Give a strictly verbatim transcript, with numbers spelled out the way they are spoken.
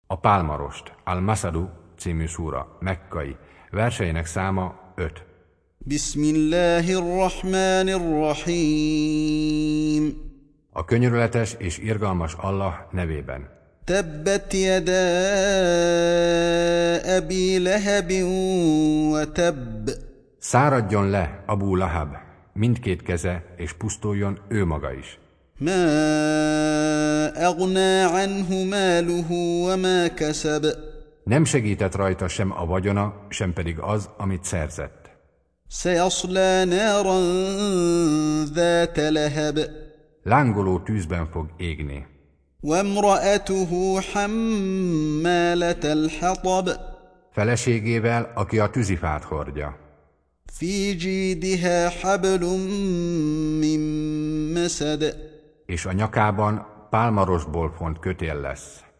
A pálmarost, Al-Masadu című szúra, mekkai, verseinek száma öt. Bismillahirrahmanirrahim. A könyörületes és irgalmas Allah nevében. Tabbet yada Abi Lahab wa tabb. Száradjon le Abu Lahab, mindkét keze, és pusztuljon ő maga is. Ma aghna anhu maluhu wa ma kasab. Nem segített rajta sem a vagyona, sem pedig az, amit szerzett. Sayasla naran dhat lahab. Lángoló tűzben fog égni. Wa imra'atuhu hammalat al-hatab. Feleségével, aki a tűzifát hordja. Fi jidha hablum min masad. És a nyakában pálmarosból font kötél lesz.